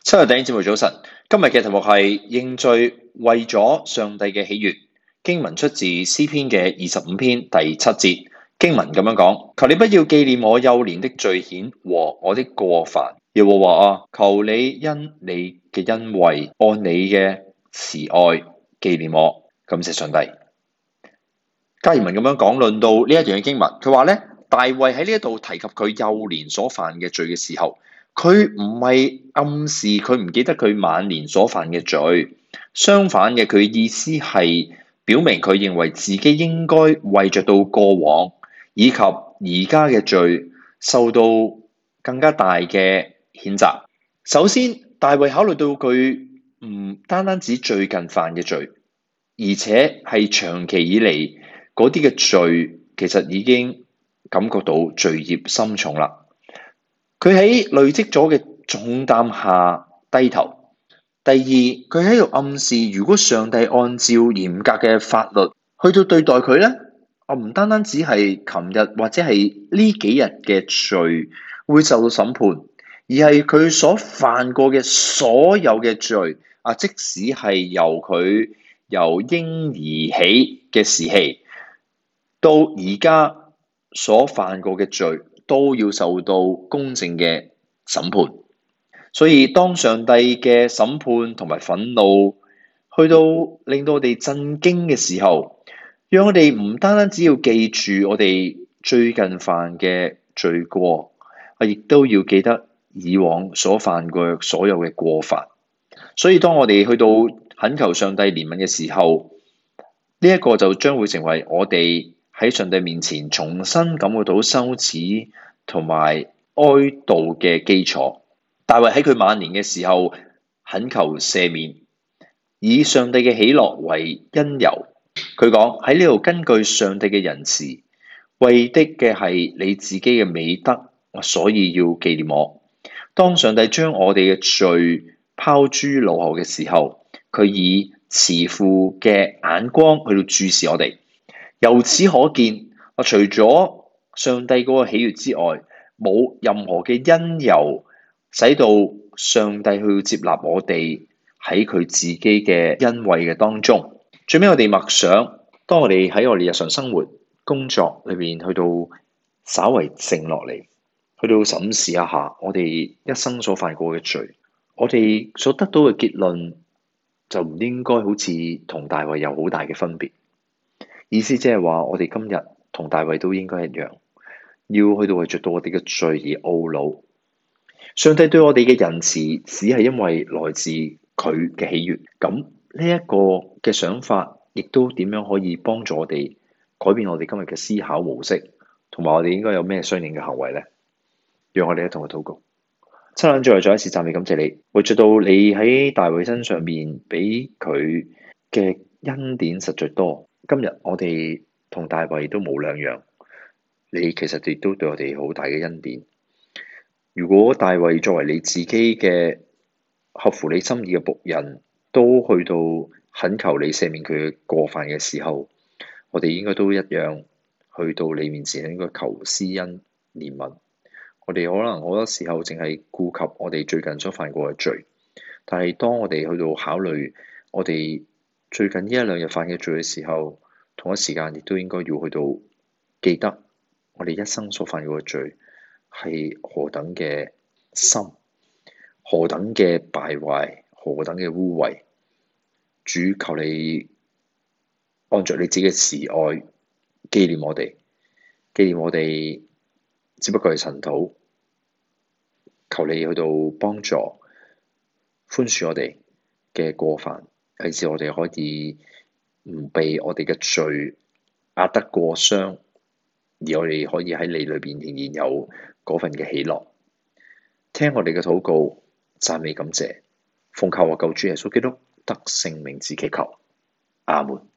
親愛的弟兄姊妹早晨，今日嘅題目係認罪為咗上帝嘅喜悅。經文出自詩篇嘅25篇第7節，經文咁樣講：求你不要紀念我幼年的罪愆和我的過犯。耶和華啊，求你因你嘅恩惠，按你嘅慈愛紀念我。感謝上帝。加爾文咁樣講論到呢一段嘅經文，佢話咧，大衛喺呢一度提及佢幼年所犯嘅罪嘅時候，佢唔係暗示佢唔記得佢晚年所犯嘅罪，相反嘅，佢意思係表明佢認為自己應該為着到過往以及而家嘅罪受到更加大嘅譴責。首先，大衛考慮到佢唔單單止最近犯嘅罪，而且係長期以嚟嗰啲嘅罪，其實已經感覺到罪孽深重啦。佢喺累積咗嘅重擔下低頭。第二，佢喺度暗示，如果上帝按照嚴格嘅法律去到對待佢咧，唔單單只係琴日或者係呢幾日嘅罪會受到審判，而係佢所犯過嘅所有嘅罪即使係由佢由嬰兒起嘅時期到而家所犯過嘅罪，都要受到公正嘅審判。所以當上帝嘅審判同埋憤怒去到令到我哋震驚嘅時候，讓我哋唔單單只要記住我哋最近犯嘅罪過，亦都要記得以往所犯過所有嘅過犯。所以當我哋去到懇求上帝憐憫嘅時候，呢一個就將會成為我哋喺上帝面前重新感覺到羞恥同埋哀悼嘅基礎。大衛喺佢晚年嘅時候懇求赦免，以上帝嘅喜樂為因由。佢講喺呢度，根據上帝嘅仁慈，為的嘅係你自己嘅美德，所以要紀念我。當上帝將我哋嘅罪拋諸腦後嘅時候，佢以慈父嘅眼光去到注視我哋。由此可見，除咗上帝嗰個喜悅之外，冇任何嘅因由使到上帝去接納我哋喺佢自己嘅恩惠嘅當中。最尾我哋默想，當我哋喺我哋日常生活工作裏邊去到稍為靜落嚟，去到審視一下我哋一生所犯過嘅罪，我哋所得到嘅結論就唔應該好似同大衛有好大嘅分別。意思即係話，我哋今日同大衛都應該一樣，要去到為着到我哋嘅罪而懊惱。上帝對我哋嘅仁慈，只係因為來自佢嘅喜悅。咁呢一個嘅想法，亦都點樣可以幫助我哋改變我哋今日嘅思考模式，同埋我哋應該有咩相應嘅行為呢？讓我哋一同去禱告。親愛的，再一次讚美感謝你，為着到你喺大衛身上面俾佢嘅恩典實在多。今日我哋同大衛都冇兩樣，你其實亦都對我哋好大嘅恩典。如果大衛作為你自己嘅合乎你心意嘅僕人，都去到懇求你赦免佢嘅過犯嘅時候，我哋應該都一樣去到你面前，應該求施恩憐憫。我哋可能好多時候淨係顧及我哋最近所犯過嘅罪，但係當我哋去到考慮我哋最近呢一兩日犯嘅罪嘅時候，同一時間亦都應該要去到記得我哋一生所犯過嘅罪係何等嘅深，何等嘅敗壞，何等嘅污穢。主，求你按着你自己嘅慈愛紀念我哋，紀念我哋只不過係塵土，求你去到幫助寬恕我哋嘅過犯，以致我哋可以唔被我哋嘅罪壓得過傷，而我哋可以喺你裏邊仍然有嗰份嘅喜樂。聽我哋嘅禱告，讚美感謝，奉靠我救主耶穌基督得勝名字祈求，阿門。